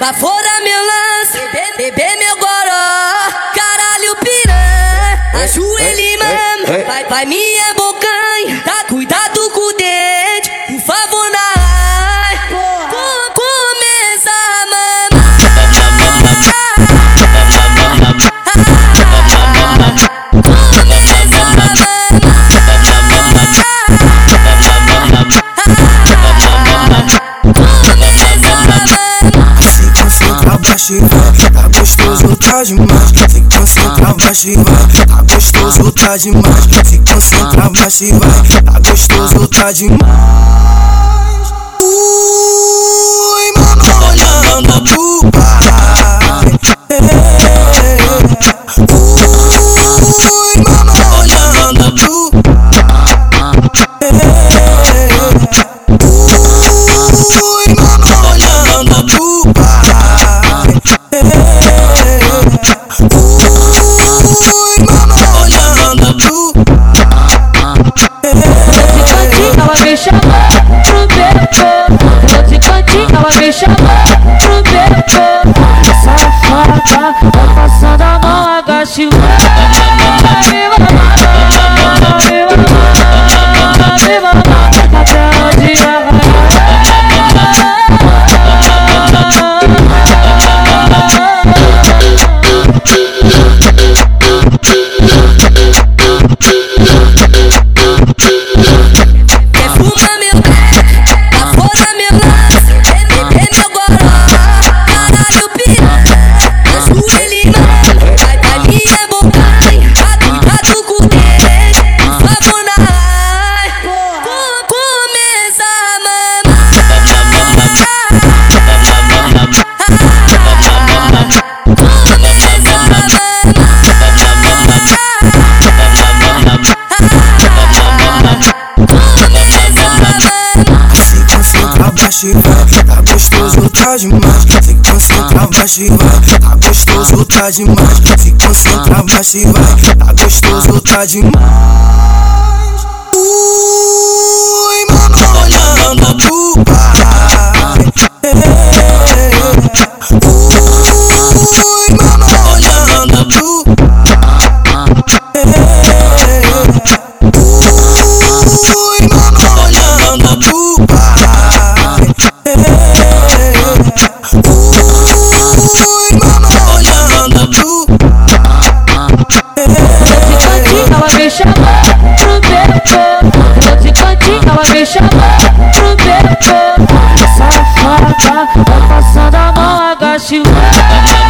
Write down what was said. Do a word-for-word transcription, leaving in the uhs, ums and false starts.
Lá fora meu lance, bebê meu goró. Caralho piranha, ajoelha e mama. Vai, vai minha bocanha, tá, cuidado com o dente, por favor na ai. Começa a mamar. Começa a mamar. Tá gostoso, tá demais. Se concentra, baixa e vai. Tá gostoso, tá demais. Se concentra, baixa e vai. Tá gostoso, tá demais. Ui, mano, olhando pro pai. Ui, mano, olhando pro pai. Ui, mano, olhando pro pai. Ela me chamou pro bebê, eu de cantinho, ela me chamou pro bebê. Safada, tá passando a mão, agache o me mamar, me mamar, me mamar, até onde ela tá gostoso, tá demais. Se concentra, baixa e vai. Tá gostoso, tá demais. Se concentra, baixa e vai. Tá gostoso, tá demais. Ui, mano, olhando pro pai. Ui, mano, olhando pro pai. Ui, mano, olhando pro pai. ela me chamou pro bebê, eu de cantinho, ela me chamou pro bebê. Safada, tá passando a mão, agache o